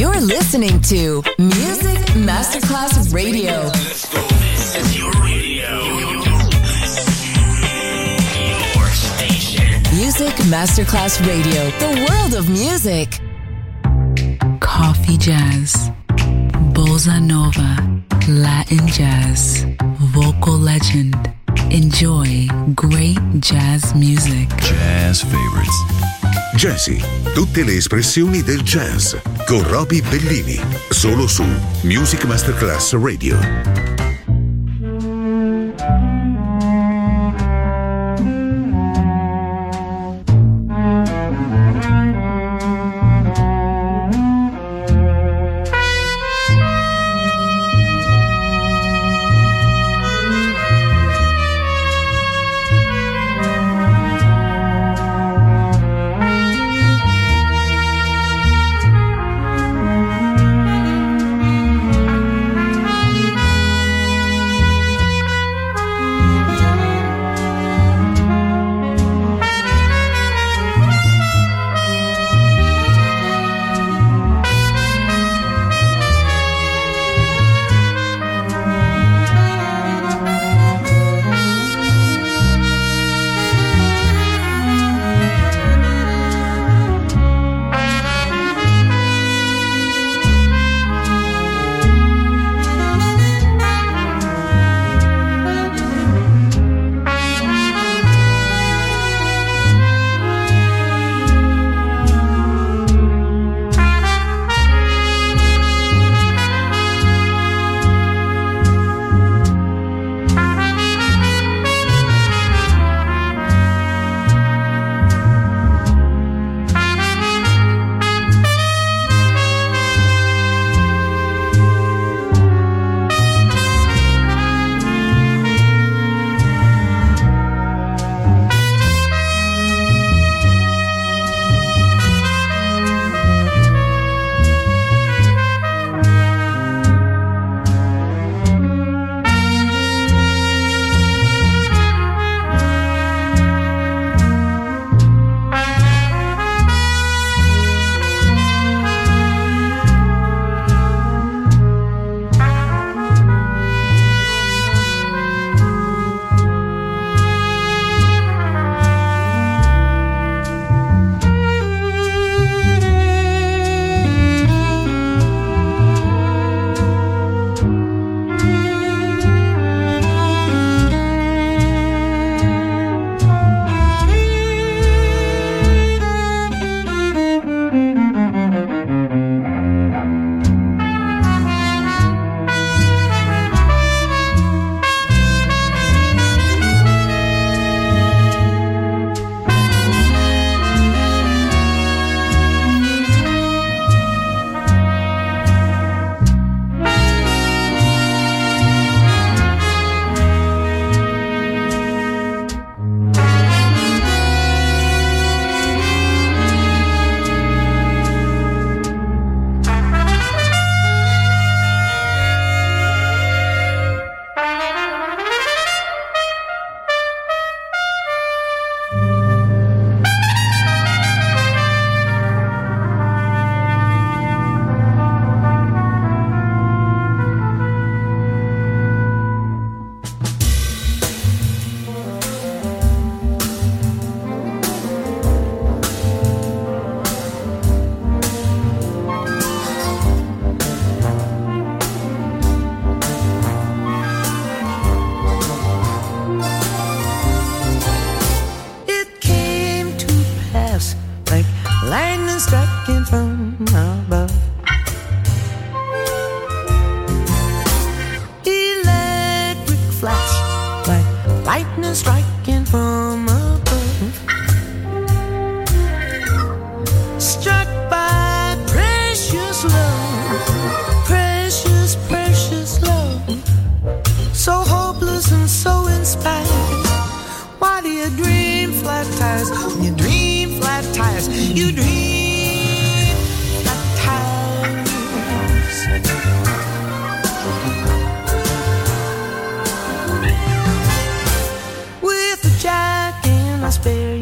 You're listening to Music Masterclass Radio. Let's go. This is your radio. Your station. Music Masterclass Radio. The world of music. Coffee jazz, bossa nova, Latin jazz, vocal legend. Enjoy great jazz music. Jazz favorites. Jazzy, tutte le espressioni del jazz con Roby Bellini, solo su Music Masterclass Radio.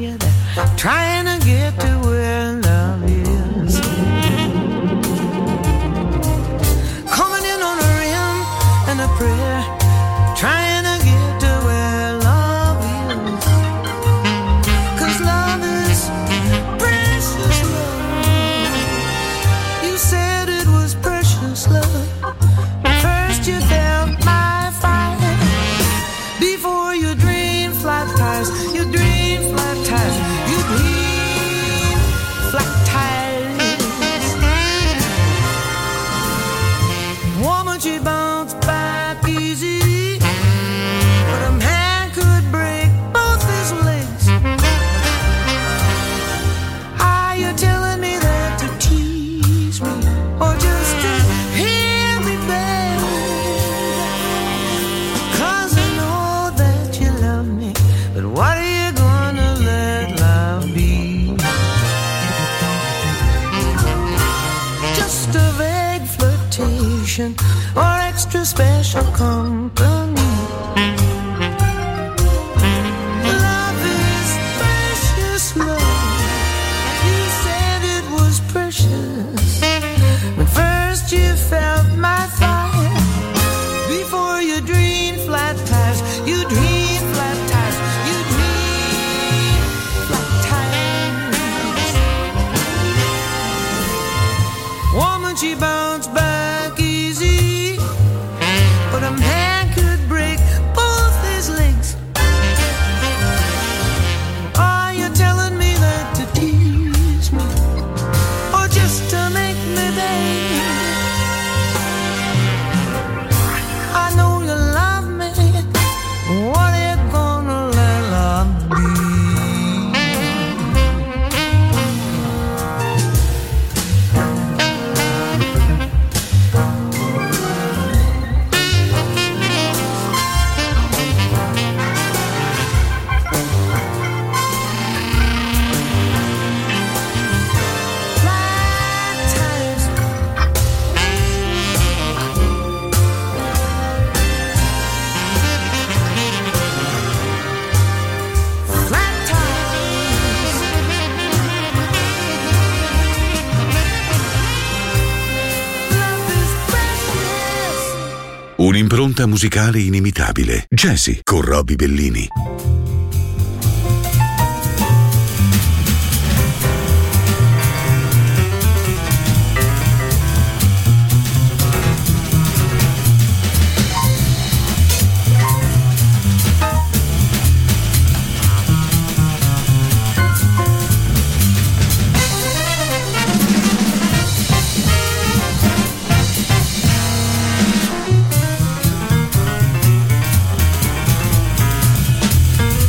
Trying to get to where love is. vacation or extra special company. Love is precious, love. You said it was precious when first you felt my fire. Before you dream flat tires, you dream flat tires, you dream flat tires. Woman, she bounced back easy, but a man could break both his legs. Are you telling me that to tease me, or just to make me beg? I know you love me. What are you gonna let love be? Flat tires. Flat tires. Love is precious. Un'impronta musicale inimitabile. Jazzy con Robbie Bellini. Flat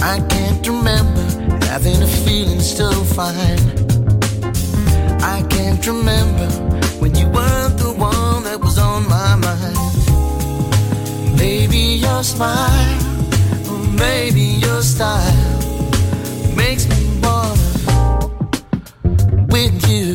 I can't remember having a feeling so fine. I can't remember when you weren't the one that was on my mind. Maybe your smile, or maybe your style makes me wanna with you.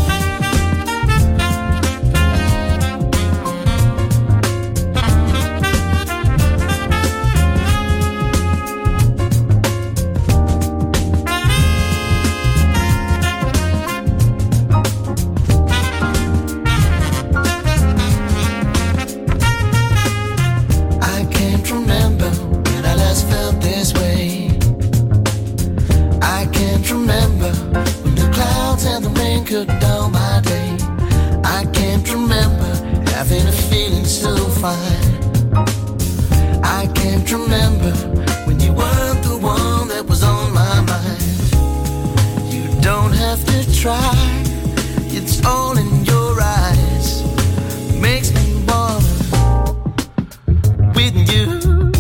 Cut down my day. I can't remember having a feeling so fine. I can't remember when you weren't the one that was on my mind. You don't have to try, it's all in your eyes. Makes me wanna with you.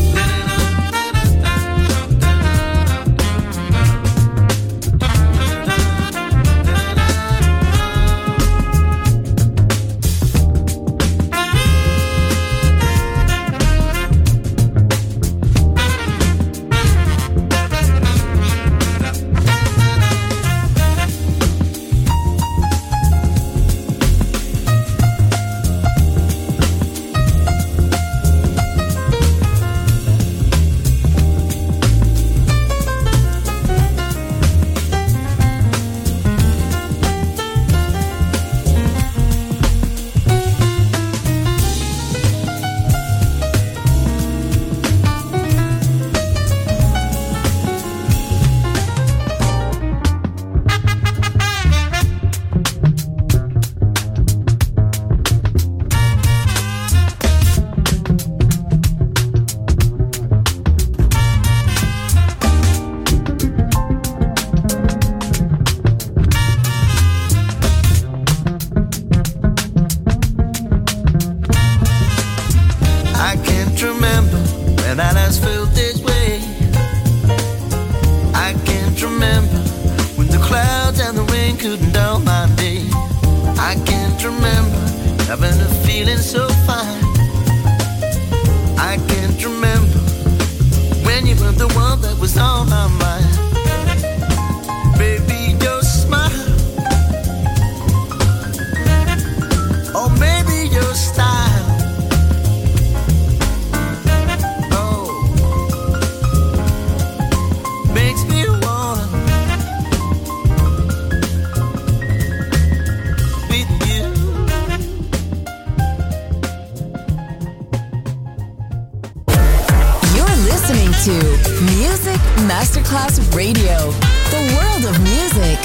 Masterclass Radio, the world of music.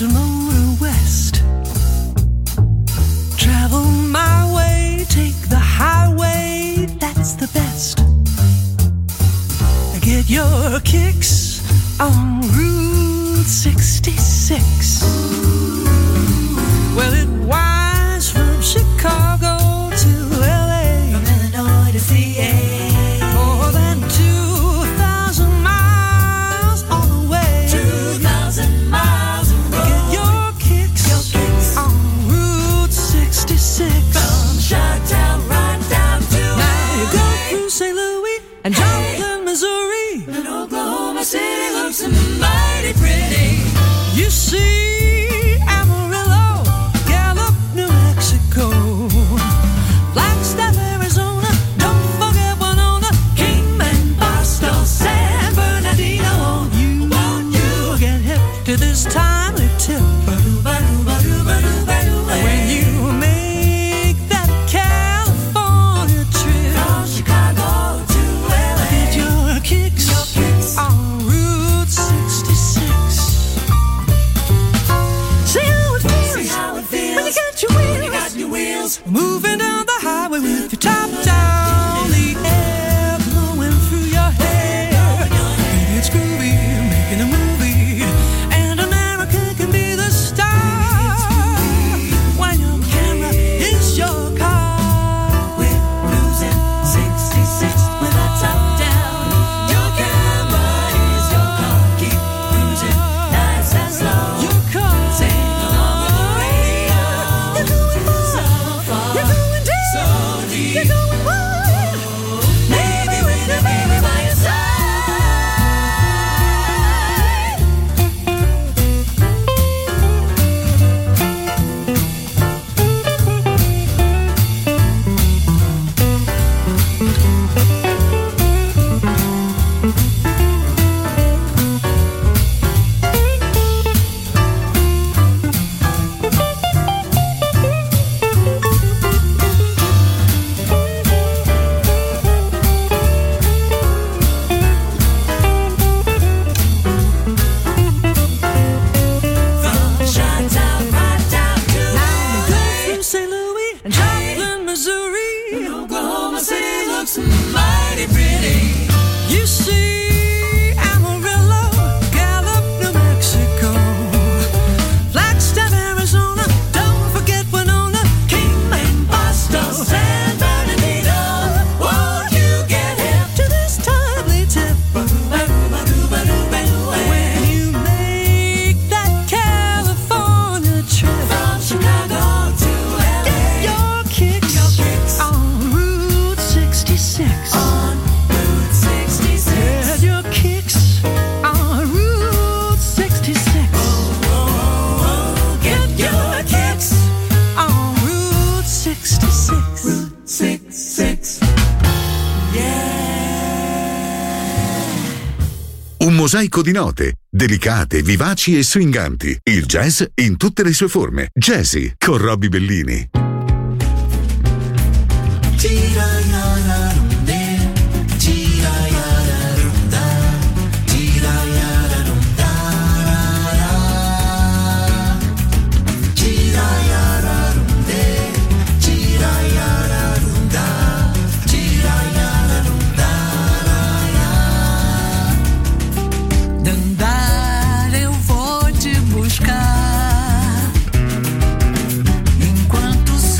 to motor west. Travel my way, take the highway, that's the best. Get your kicks on Route 66. Well, it winds from Chicago to LA, from Illinois to CA. More than 2,000 miles all the way. 2,000 miles of road. Get your kicks on Route 66. From Chi-Town right down to LA. Now you go through St. Louis and Joplin, Missouri. And Oklahoma City looks mighty pretty. You see Amarillo, Gallup, New Mexico, Flagstaff, Arizona, don't forget Winona, Kingman, Boston, San Bernardino. Won't you get hip to this timely tip? When you make that California trip from Chicago to LA, get your kicks on Route 66. See how it feels when you got your wheels moving down the highway with your top down, the air blowing through your hair. Baby, it's groovy, making a movie, and America can be the star when your camera is your car. We're cruising 66 with our top down. Your camera is your car. Keep cruising nice and slow. Your car, sing along with the radio. You're going far, you're going deep, so deep. You're going wide. Maybe with a baby by your side. From Chi-Town right down to LA. Go through St. Louis and Joplin, Missouri. And Oklahoma City looks mighty pretty. You see Amarillo, Gallup, New Mexico, Flagstaff, Arizona, don't forget Winona, Kingman, Boston, San Bernardino. Won't you get hip to this timely tip? When you make that California trip from Chicago to LA, get your kicks on Route 66. On Route 66. Get your kicks on Route 66. Get your kicks on Route 66. Route 66. Un mosaico di note, delicate, vivaci e swinganti. Il jazz in tutte le sue forme. Jazzy con Robbie Bellini. Dandara eu vou te buscar, enquanto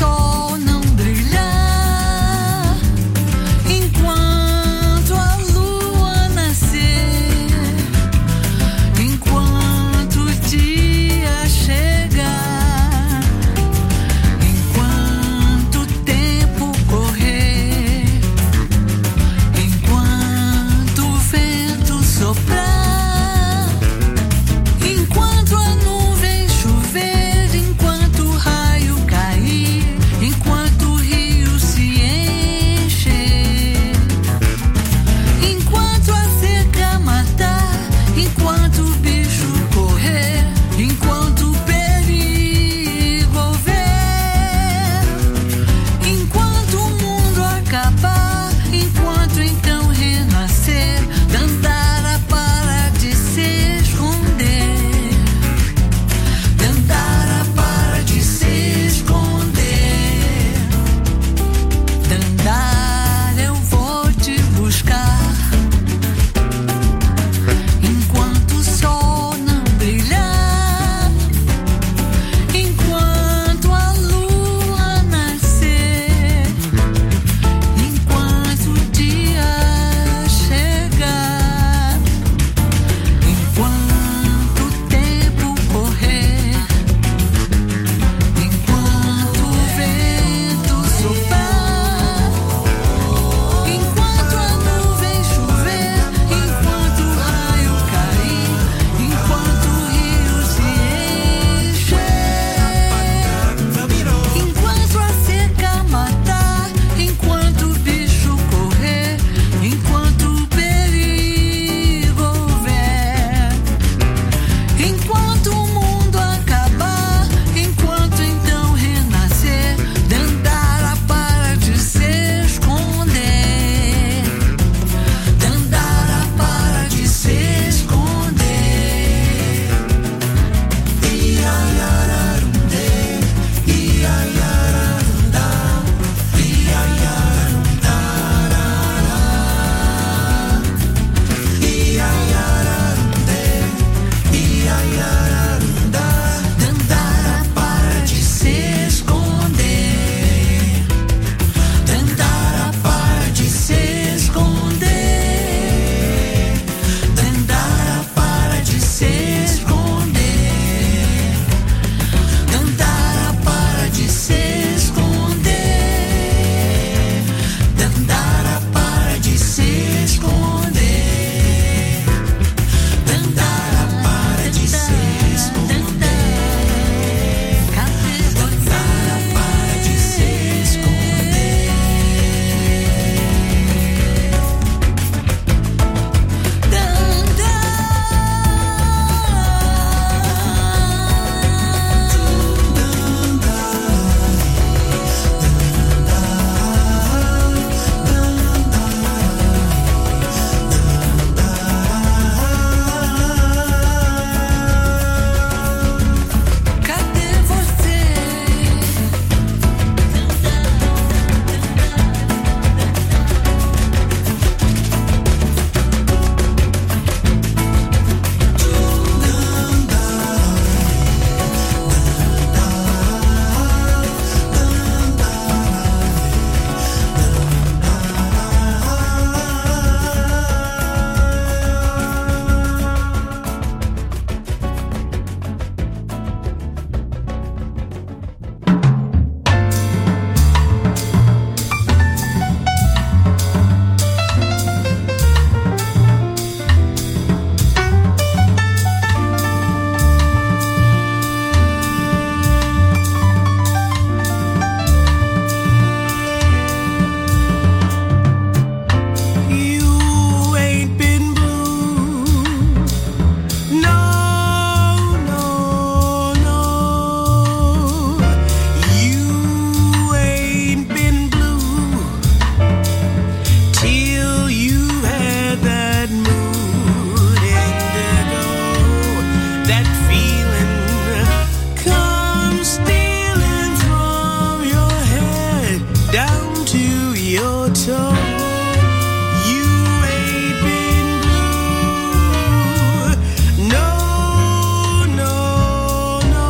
that feeling comes stealing from your head down to your toe. You ain't been blue, no, no, no.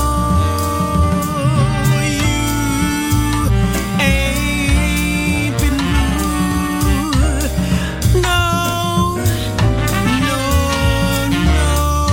You ain't been blue, no, no, no.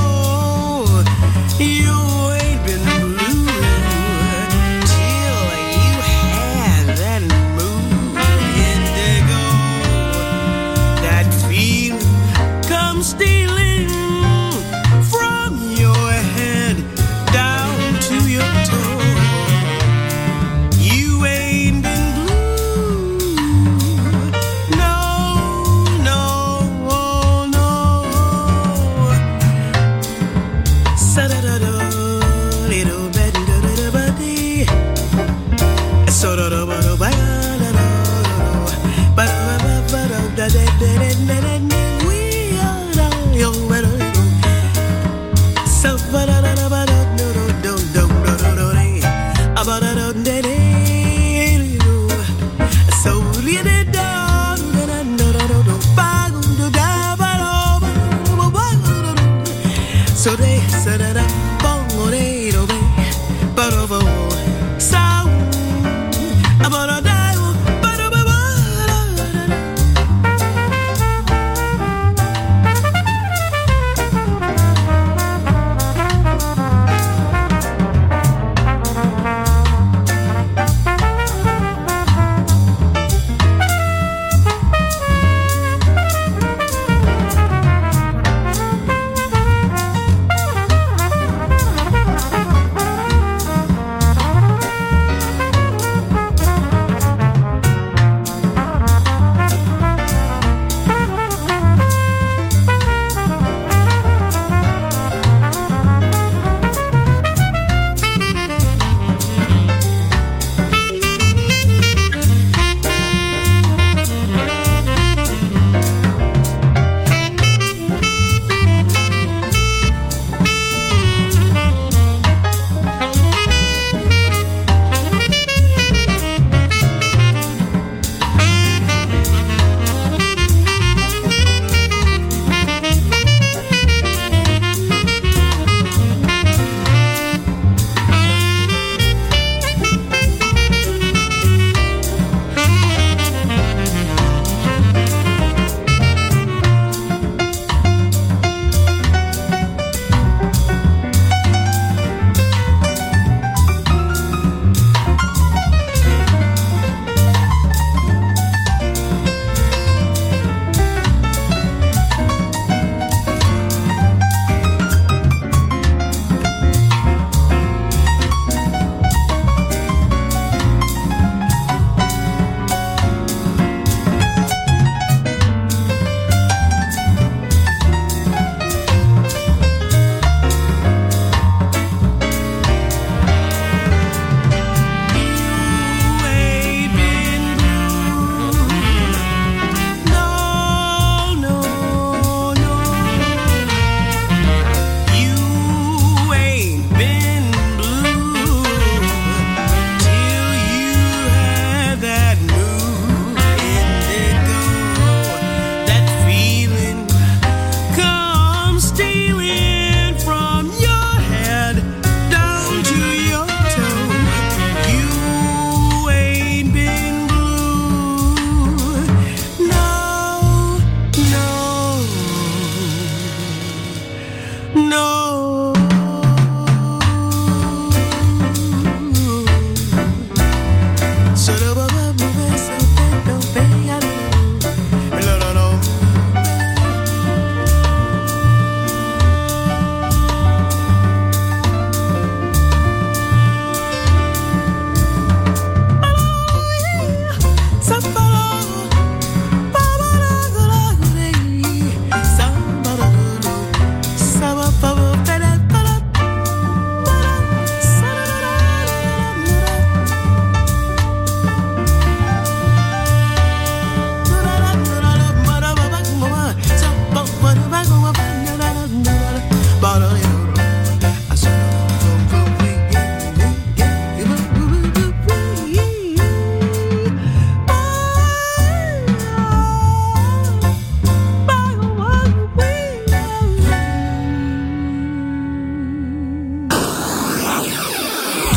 You ain't been blue till you had that mood indigo. That feeling comes stealing from your head down to your toe. You ain't been blue, no, no, no. Sa-da-da-da, little bit, da-da-da-ba-dee. So-da-da-ba-da-ba-da-da-da. Ba-da-ba-ba-ba-da-da-da-da-da-da. We are the young better. So-ba-da-da-da-ba-da-da-da-da-da-da-da-da. Ba-da-da-da-da-da. So-li-da-da-da-da-da-da-da. Ba-da-da-ba-da-ba-da-ba-da. So they said that I'm but over sound about a die.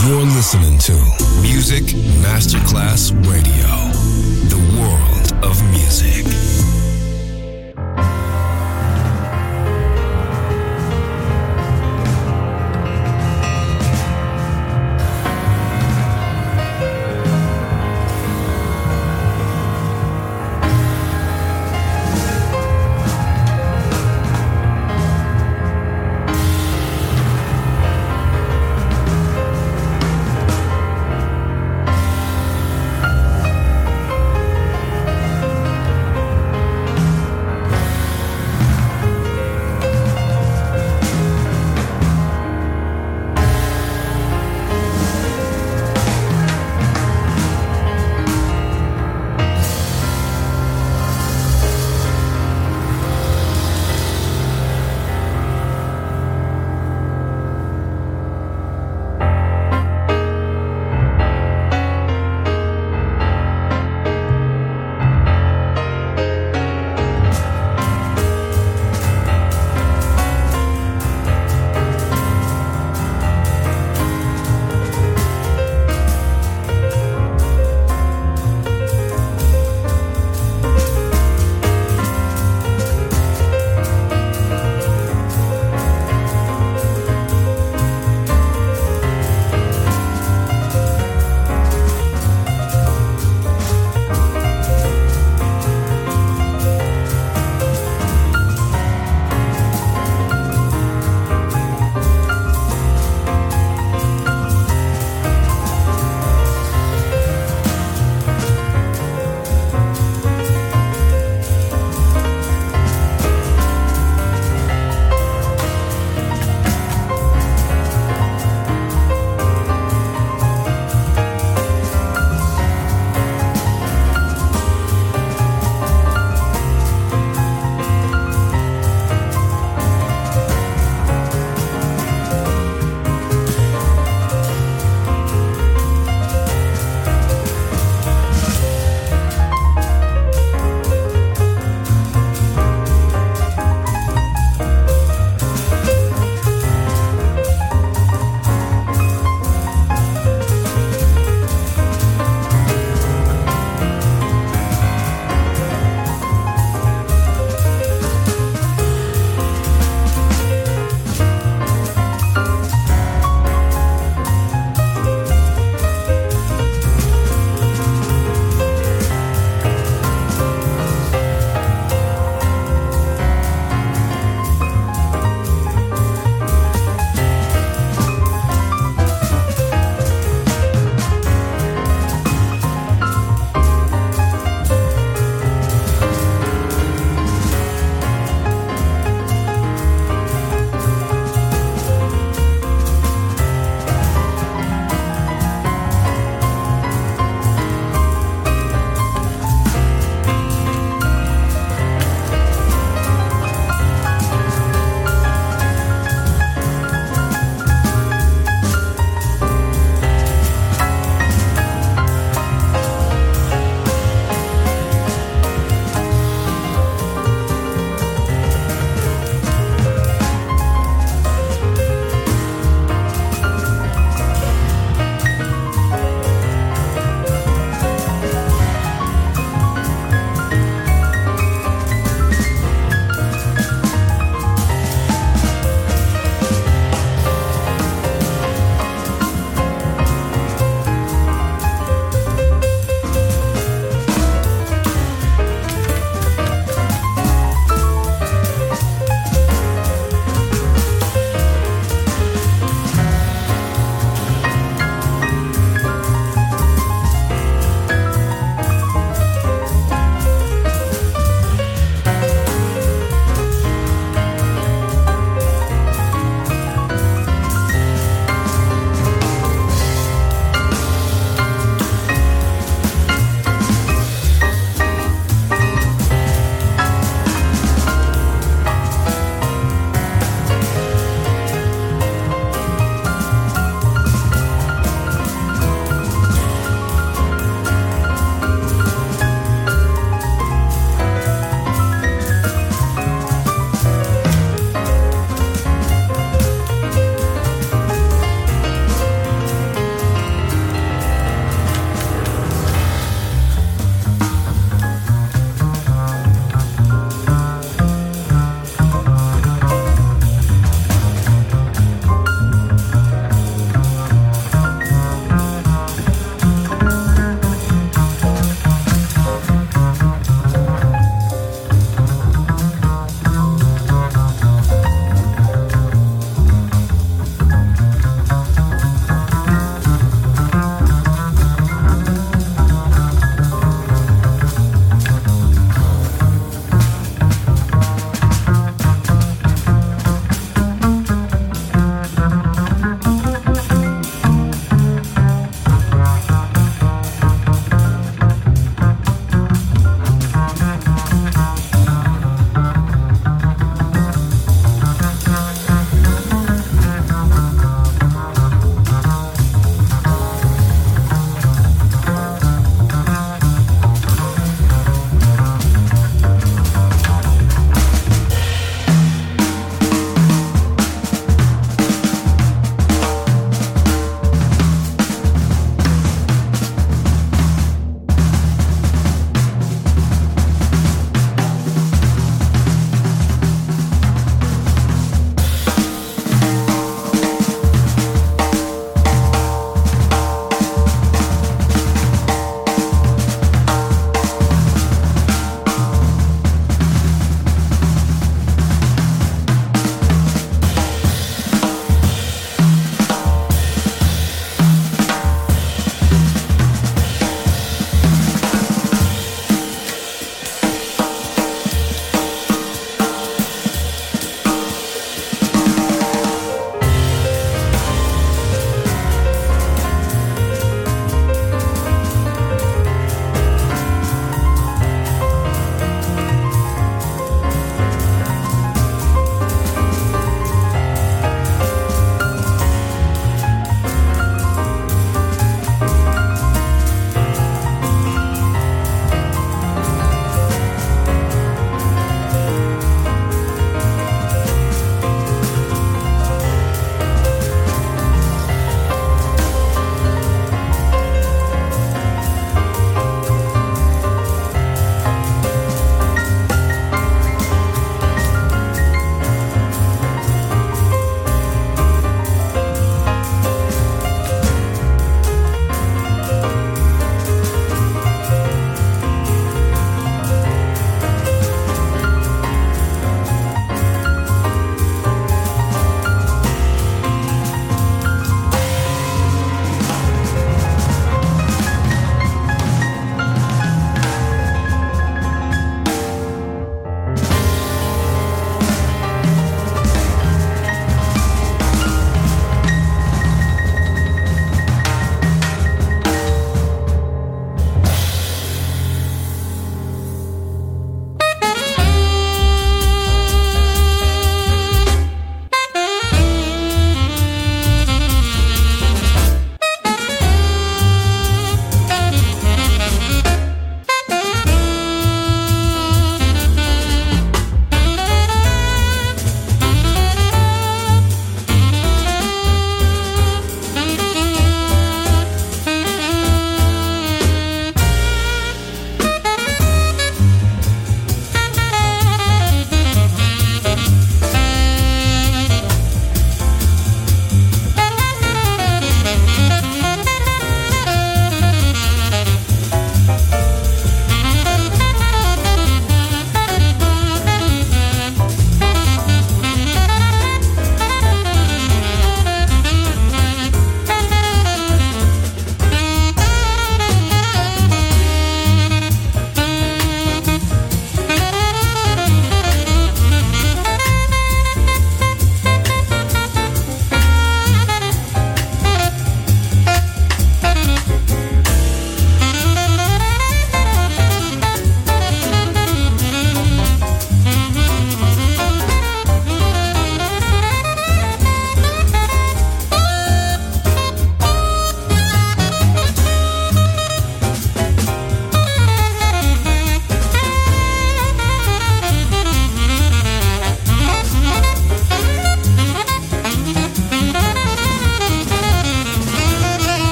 You're listening to Music Masterclass Radio, the world of music.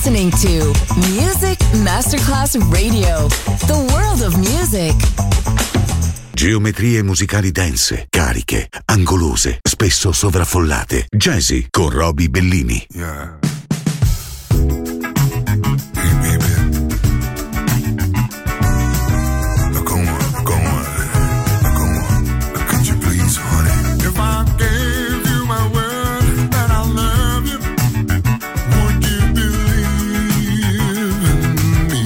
listening to Music Masterclass Radio, the world of music. Geometrie musicali dense, cariche, angolose, spesso sovraffollate. Jazzy con Roby Bellini. Yeah. Hey baby. Now come on. Could you please, honey? If I gave you my word that I love you, would you believe in me?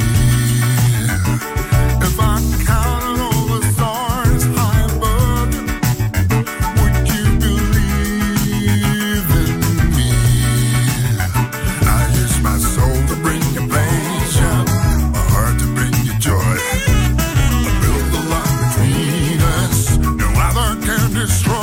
If I counted all the stars high above you, would you believe in me? I use my soul to bring you pleasure, my heart to bring you joy. I build the love between us, no other can destroy.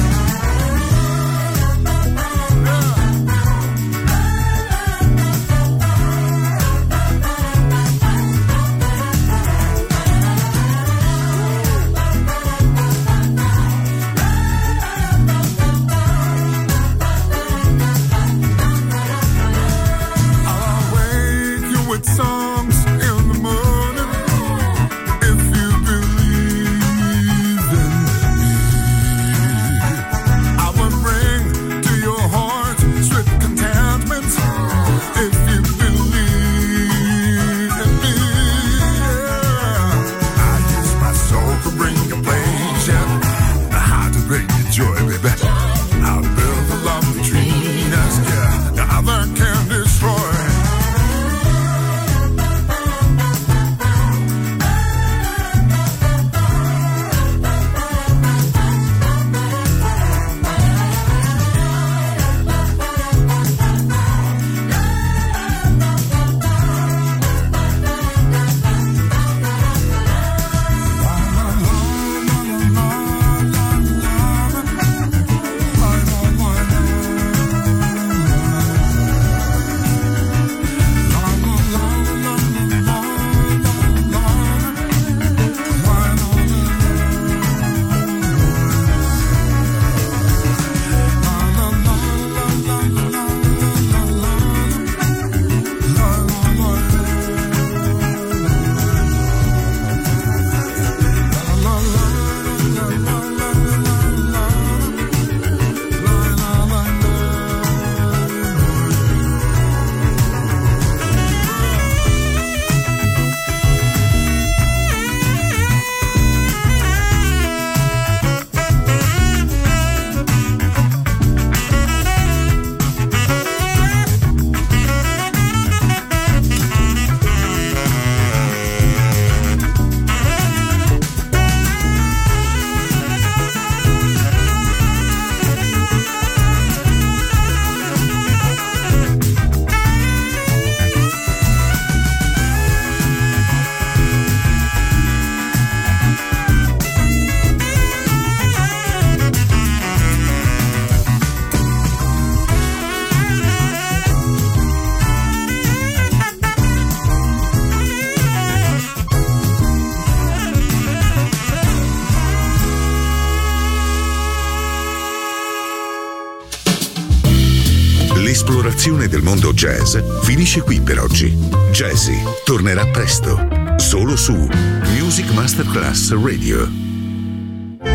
I'll wake you with songs in the morning if you believe in me. I will bring to your heart sweet contentment if you believe in me. I use my soul to bring you pleasure, my heart to bring you joy, baby. I'll build the love between us, yeah, no other can destroy. L'esplorazione del mondo jazz finisce qui per oggi. Jazzy tornerà presto, solo su Music Masterclass Radio.